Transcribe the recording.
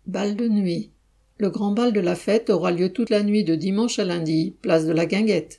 Bal de nuit. Le grand bal de la fête aura lieu toute la nuit de dimanche à lundi, place de la Guinguette.